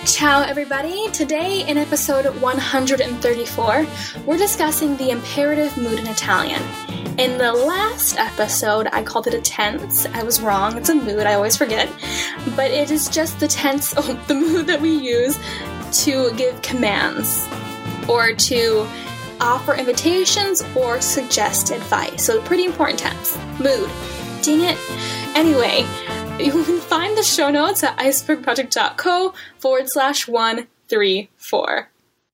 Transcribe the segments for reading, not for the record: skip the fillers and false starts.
Ciao everybody! Today in episode 134, we're discussing the imperative mood in Italian. In the last episode, I called it a tense. I was wrong, it's a mood, I always forget. But it is just the tense, the mood that we use to give commands, or to offer invitations, or suggest advice. So pretty important tense. Mood. Dang it. Anyway, you can find the show notes at icebergproject.co/134.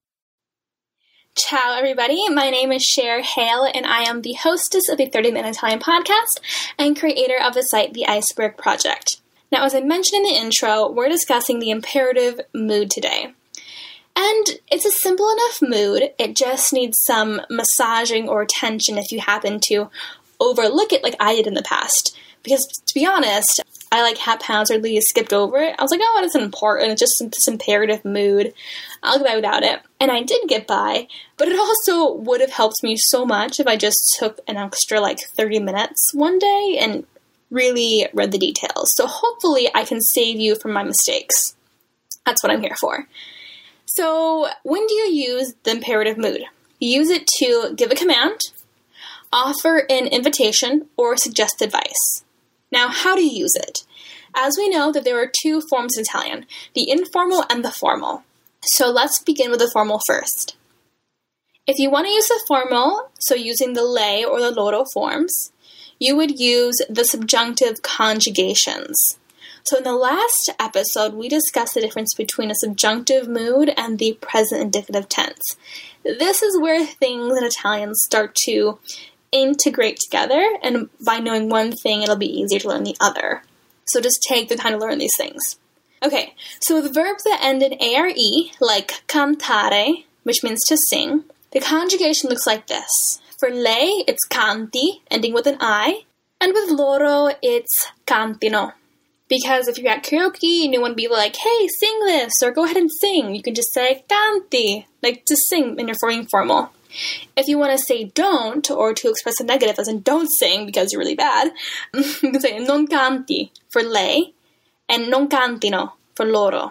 Ciao, everybody. My name is Cher Hale, and I am the hostess of the 30-Minute Italian podcast and creator of the site The Iceberg Project. Now, as I mentioned in the intro, we're discussing the imperative mood today. And it's a simple enough mood. It just needs some massaging or attention if you happen to overlook it like I did in the past. Because, to be honest, I haphazardly skipped over it. I was like, oh, it's important. It's just this imperative mood. I'll get by without it. And I did get by, but it also would have helped me so much if I just took an extra 30 minutes one day and really read the details. So hopefully I can save you from my mistakes. That's what I'm here for. So when do you use the imperative mood? You use it to give a command, offer an invitation, or suggest advice. Now, how do you use it? As we know that there are two forms in Italian, the informal and the formal. So let's begin with the formal first. If you want to use the formal, so using the lei or the loro forms, you would use the subjunctive conjugations. So in the last episode, we discussed the difference between a subjunctive mood and the present indicative tense. This is where things in Italian start to integrate together, and by knowing one thing, it'll be easier to learn the other. So just take the time to learn these things. Okay, so with verbs that end in are, like cantare, which means to sing, the conjugation looks like this. For lei, it's canti, ending with an I, and with loro, it's cantino. Because if you're at karaoke and you want to be like, hey, sing this, or go ahead and sing, you can just say canti, to sing in your informal. If you want to say don't, or to express a negative as in don't sing because you're really bad, you can say non canti for lei, and non cantino for loro.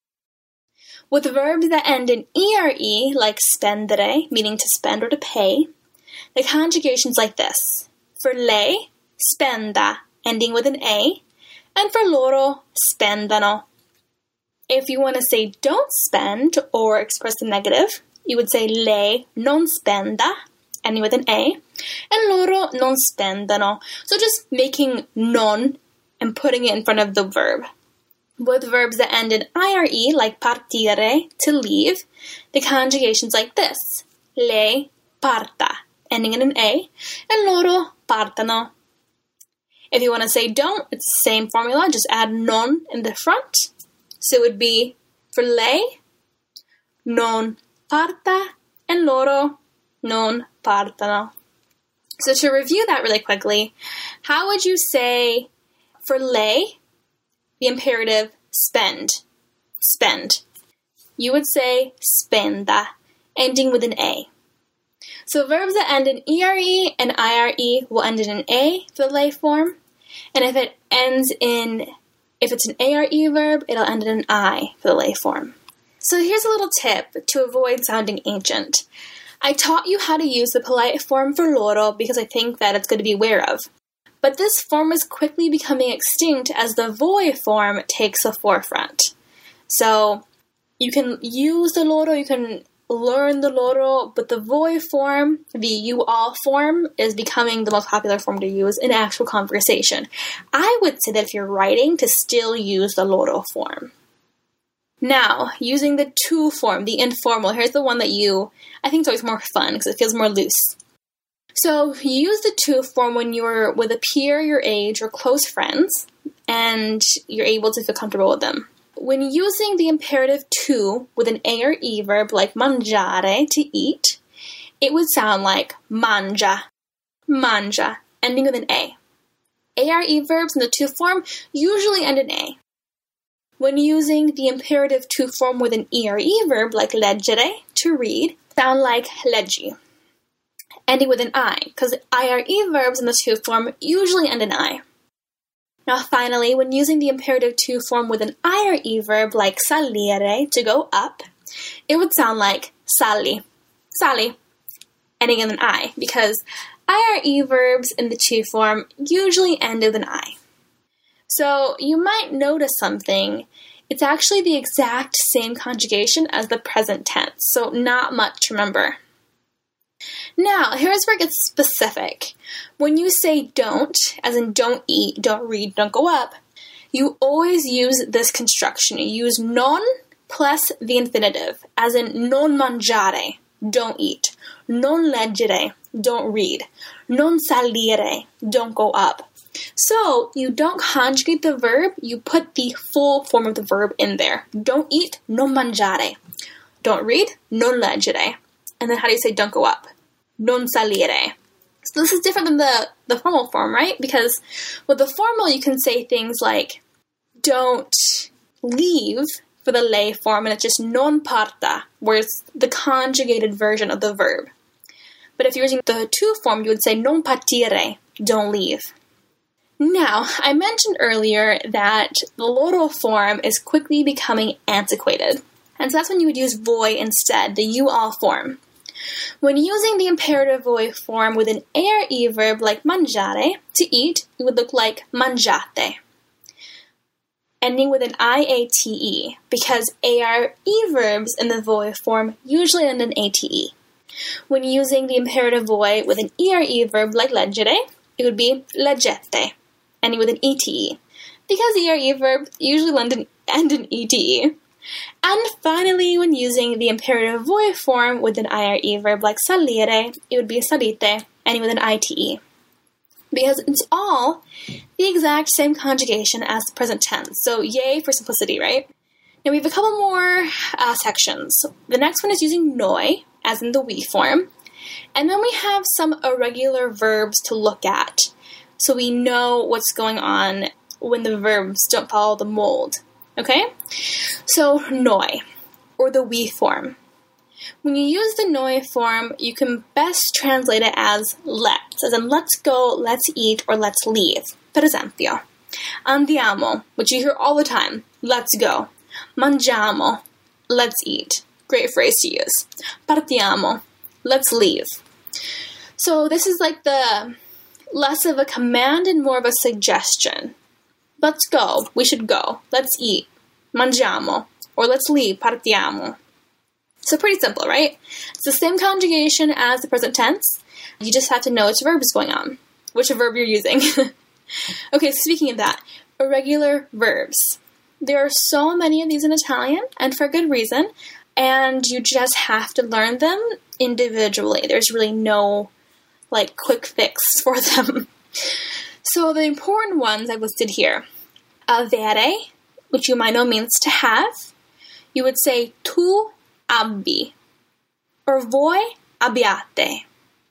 With verbs that end in ere, like spendere, meaning to spend or to pay, the conjugation's like this. For lei, spenda, ending with an A, and for loro, spendano. If you want to say don't spend or express the negative, you would say lei non spenda, ending with an A, and loro non spendano. So just making non and putting it in front of the verb. With verbs that end in ire, like partire, to leave, the conjugation's like this. Lei parta, ending in an A, and loro partano. If you want to say don't, it's the same formula, just add non in the front. So it would be for lei, non parta, and loro, non partano. So to review that really quickly, how would you say for lei, the imperative spend? Spend. You would say spenda, ending with an A. So verbs that end in ere and ire will end in an A for the lei form. And if it's an are verb, it'll end in an I for the lei form. So here's a little tip to avoid sounding ancient. I taught you how to use the polite form for loro because I think that it's good to be aware of. But this form is quickly becoming extinct as the voi form takes the forefront. So you can use the loro, you can learn the loro, but the voi form, the you all form, is becoming the most popular form to use in actual conversation. I would say that if you're writing, to still use the loro form. Now, using the tu form, the informal, here's the one that I think is always more fun because it feels more loose. So, you use the tu form when you're with a peer your age or close friends, and you're able to feel comfortable with them. When using the imperative tu with an a or e verb like mangiare, to eat, it would sound like mangia, mangia, ending with an a. Are verbs in the tu form usually end in a. When using the imperative tu form with an ere verb like leggere, to read, sound like leggi, ending with an I, because ire verbs in the tu form usually end in I. Now finally, when using the imperative to form with an I or E verb like salire, to go up, it would sound like sali, sali, ending in an I, because I or E verbs in the to form usually end with an I. So you might notice something. It's actually the exact same conjugation as the present tense, so not much to remember. Now, here's where it gets specific. When you say don't, as in don't eat, don't read, don't go up, you always use this construction. You use non plus the infinitive, as in non mangiare, don't eat, non leggere, don't read, non salire, don't go up. So, you don't conjugate the verb, you put the full form of the verb in there. Don't eat, non mangiare. Don't read, non leggere. And then how do you say don't go up? Non salire. So this is different than the formal form, right? Because with the formal, you can say things like don't leave for the lei form, and it's just non parta, where it's the conjugated version of the verb. But if you're using the to form, you would say non partire, don't leave. Now, I mentioned earlier that the loro form is quickly becoming antiquated. And so that's when you would use voi instead, the you all form. When using the imperative voi form with an a or e verb like mangiare, to eat, it would look like mangiate, ending with an iate, because a or e verbs in the voi form usually end in ate. When using the imperative voi with an e or e verb like leggere, it would be leggete, ending with an ete, because e or e verbs usually end in ete. And finally, when using the imperative voi form with an I or E verb like salire, it would be salite, ending with an ite. Because it's all the exact same conjugation as the present tense. So yay for simplicity, right? Now we have a couple more sections. The next one is using noi, as in the we form. And then we have some irregular verbs to look at, so we know what's going on when the verbs don't follow the mold. Okay? So, noi, or the we form. When you use the noi form, you can best translate it as let's, as in let's go, let's eat, or let's leave. Per esempio, andiamo, which you hear all the time, let's go. Mangiamo, let's eat. Great phrase to use. Partiamo, let's leave. So this is like the less of a command and more of a suggestion. Let's go, we should go. Let's eat, mangiamo, or let's leave, partiamo. So pretty simple, right? It's the same conjugation as the present tense. You just have to know which verb is going on, which verb you're using. Okay, speaking of that, irregular verbs. There are so many of these in Italian, and for good reason, and you just have to learn them individually. There's really no, quick fix for them. So the important ones I listed here. Avere, which you might know means to have. You would say tu abbi, or voi abbiate.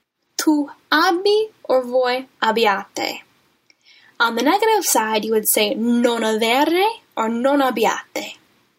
Tu abbi, or voi abbiate. On the negative side, you would say non avere, or non abbiate.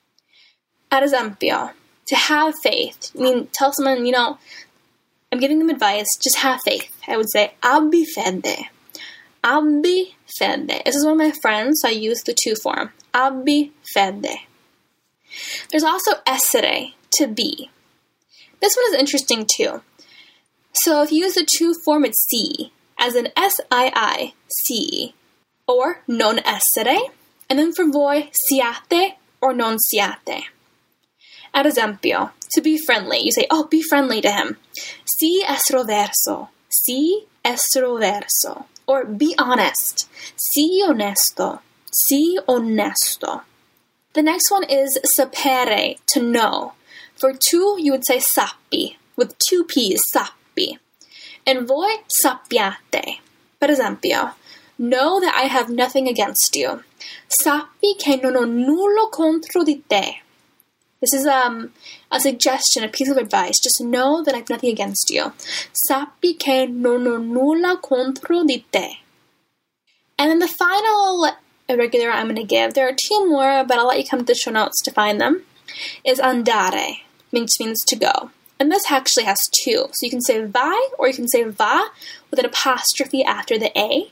Ad esempio, to have faith. I mean, tell someone, I'm giving them advice, just have faith. I would say abbi fede. Abbi fede. This is one of my friends, so I use the to form. Abbi fede. There's also essere, to be. This one is interesting too. So if you use the to form, it's si, as in S-I-I, si, or non essere, and then for voi, siate, or non siate. Ad esempio, to be friendly, you say, be friendly to him. Si estroverso, si estroverso. Or be honest, si onesto, si onesto. The next one is sapere, to know. For tu, you would say sappi, with two P's, sappi. And voi, sappiate. Per esempio, know that I have nothing against you. Sappi che non ho nulla contro di te. This is a suggestion, a piece of advice. Just know that I have nothing against you. Sappi che non ho nulla contro di te. And then the final irregular I'm going to give, there are two more, but I'll let you come to the show notes to find them, is andare, which means to go. And this actually has two. So you can say vai, or you can say va, with an apostrophe after the A.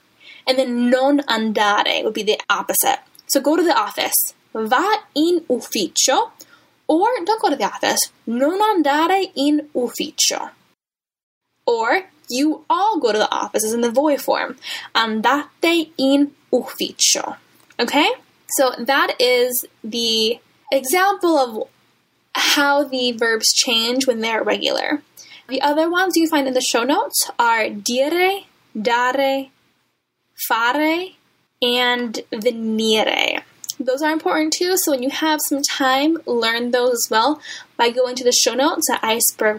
And then non andare would be the opposite. So go to the office. Va in ufficio. Or don't go to the office. Non andare in ufficio. Or you all go to the office is in the voi form. Andate in ufficio. Okay? So that is the example of how the verbs change when they're regular. The other ones you find in the show notes are dire, dare, fare, and venire. Those are important too, so when you have some time, learn those as well by going to the show notes at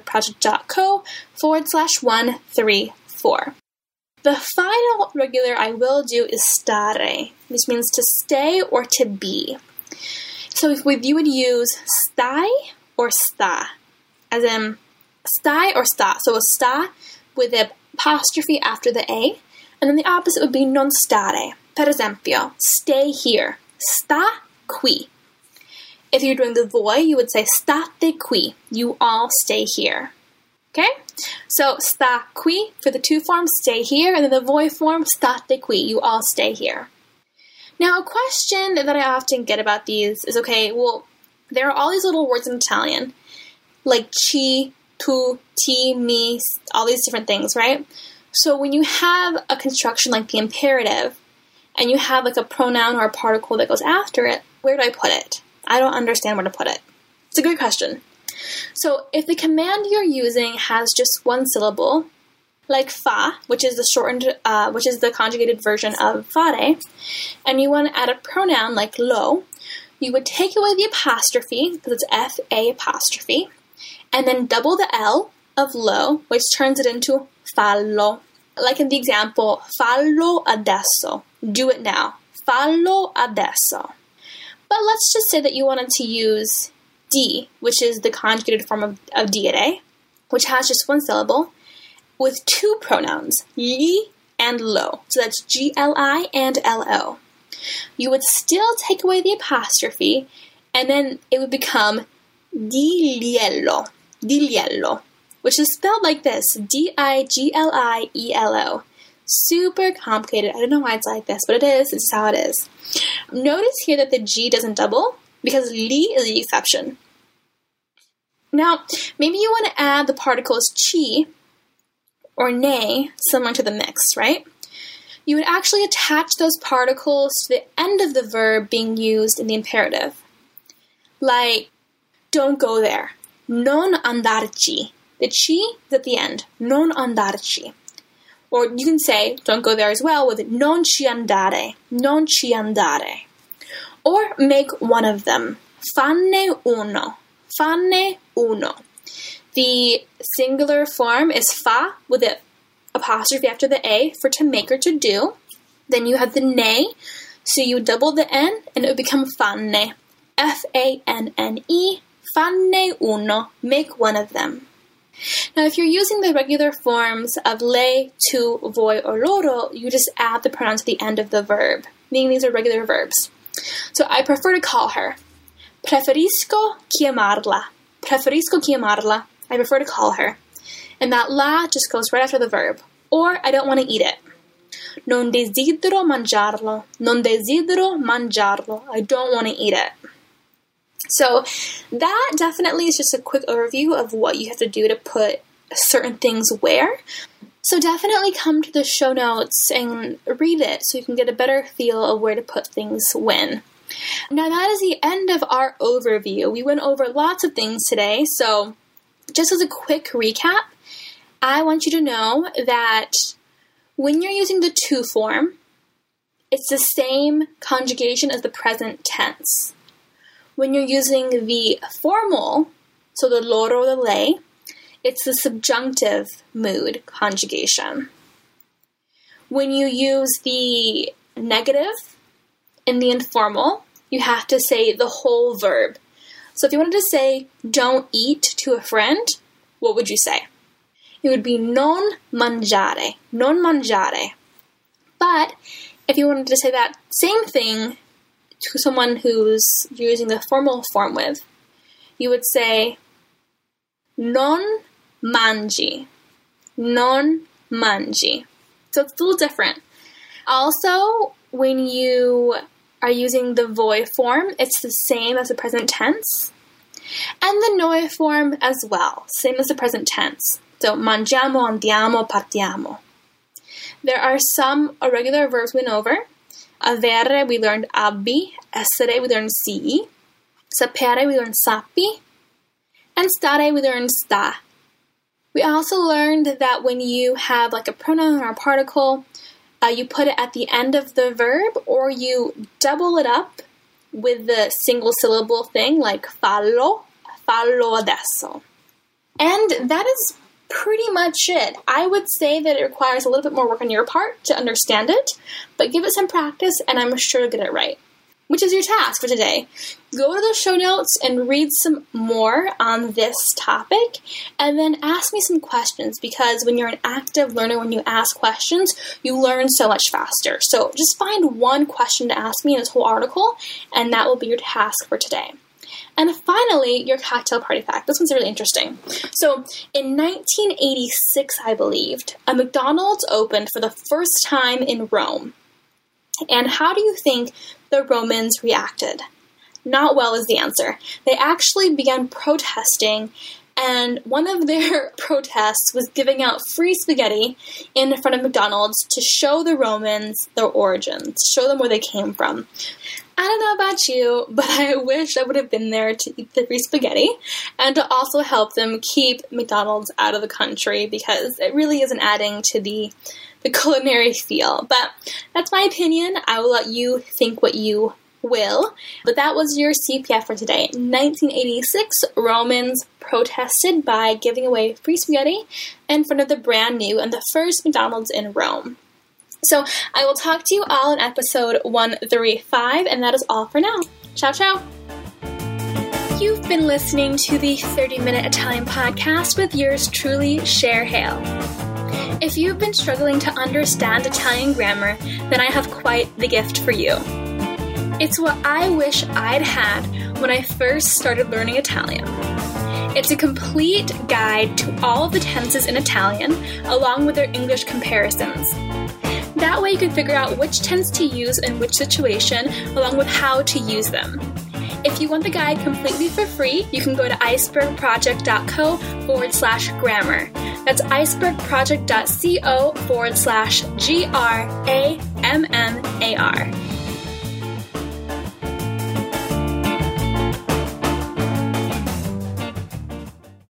icebergproject.co/134. The final regular I will do is stare, which means to stay or to be. So you would use stai or sta, as in stai or sta. So a sta with the apostrophe after the A, and then the opposite would be non stare. Per esempio, stay here. Sta qui. If you're doing the voi, you would say state qui. You all stay here. Okay? So sta qui for the to form, stay here, and then the voi form, state qui. You all stay here. Now, a question that I often get about these is, okay, well, there are all these little words in Italian, like ci, tu, ti, mi, all these different things, right? So when you have a construction like the imperative, and you have like a pronoun or a particle that goes after it, where do I put it? I don't understand where to put it. It's a good question. So if the command you're using has just one syllable, like fa, which is the conjugated version of fare, and you want to add a pronoun like lo, you would take away the apostrophe, because it's F-A apostrophe, and then double the L of lo, which turns it into fallo. Like in the example, fallo adesso. Do it now. Fallo adesso. But let's just say that you wanted to use di, which is the conjugated form of dire, which has just one syllable, with two pronouns, li and lo. So that's G-L-I and L-O. You would still take away the apostrophe, and then it would become digliello, which is spelled like this, D-I-G-L-I-E-L-O. Super complicated. I don't know why it's like this, but it is. It's how it is. Notice here that the G doesn't double, because li is the exception. Now, maybe you want to add the particles chi or ne, similar to the mix, right? You would actually attach those particles to the end of the verb being used in the imperative. Like, don't go there. Non andarci. The chi is at the end. Non andarci. Or you can say, don't go there as well, with non ci andare. Non ci andare. Or make one of them. Fanne uno. Fanne uno. The singular form is fa with the apostrophe after the A for to make or to do. Then you have the ne, so you double the N and it would become fanne. F-A-N-N-E. Fanne uno. Make one of them. Now, if you're using the regular forms of lei, tu, voi, or loro, you just add the pronoun to the end of the verb, meaning these are regular verbs. So I prefer to call her. Preferisco chiamarla. Preferisco chiamarla. I prefer to call her. And that la just goes right after the verb. Or I don't want to eat it. Non desidero mangiarlo. Non desidero mangiarlo. I don't want to eat it. So that definitely is just a quick overview of what you have to do to put certain things where. So definitely come to the show notes and read it so you can get a better feel of where to put things when. Now that is the end of our overview. We went over lots of things today, so just as a quick recap, I want you to know that when you're using the to form, it's the same conjugation as the present tense. When you're using the formal, so the loro or the lei, it's the subjunctive mood conjugation. When you use the negative in the informal, you have to say the whole verb. So if you wanted to say, don't eat to a friend, what would you say? It would be non mangiare, non mangiare. But if you wanted to say that same thing to someone who's using the formal form with, you would say non mangi, non mangi. So it's a little different. Also, when you are using the voi form, it's the same as the present tense. And the noi form as well, same as the present tense. So, mangiamo, andiamo, partiamo. There are some irregular verbs we went over. Avere, we learned abbi. Essere, we learned sii. Sapere, we learned sappi. And stare, we learned sta. We also learned that when you have like a pronoun or a particle, you put it at the end of the verb, or you double it up with the single syllable thing, like fallo adesso. And that is pretty much it. I would say that it requires a little bit more work on your part to understand it, but give it some practice and I'm sure you'll get it right. Which is your task for today. Go to the show notes and read some more on this topic, and then ask me some questions, because when you're an active learner, when you ask questions, you learn so much faster. So just find one question to ask me in this whole article, and that will be your task for today. And finally, your cocktail party fact. This one's really interesting. So in 1986, I believed, a McDonald's opened for the first time in Rome. And how do you think the Romans reacted? Not well is the answer. They actually began protesting, and one of their protests was giving out free spaghetti in front of McDonald's to show the Romans their origins, show them where they came from. I don't know about you, but I wish I would have been there to eat the free spaghetti and to also help them keep McDonald's out of the country, because it really isn't adding to the culinary feel. But that's my opinion. I will let you think what you will. But that was your CPF for today. 1986, Romans protested by giving away free spaghetti in front of the brand new and the first McDonald's in Rome. So I will talk to you all in episode 135, and that is all for now. Ciao, ciao. You've been listening to the 30-Minute Italian Podcast with yours truly, Cher Hale. If you've been struggling to understand Italian grammar, then I have quite the gift for you. It's what I wish I'd had when I first started learning Italian. It's a complete guide to all of the tenses in Italian, along with their English comparisons. That way you can figure out which tense to use in which situation, along with how to use them. If you want the guide completely for free, you can go to icebergproject.co/grammar. That's icebergproject.co/GRAMMAR.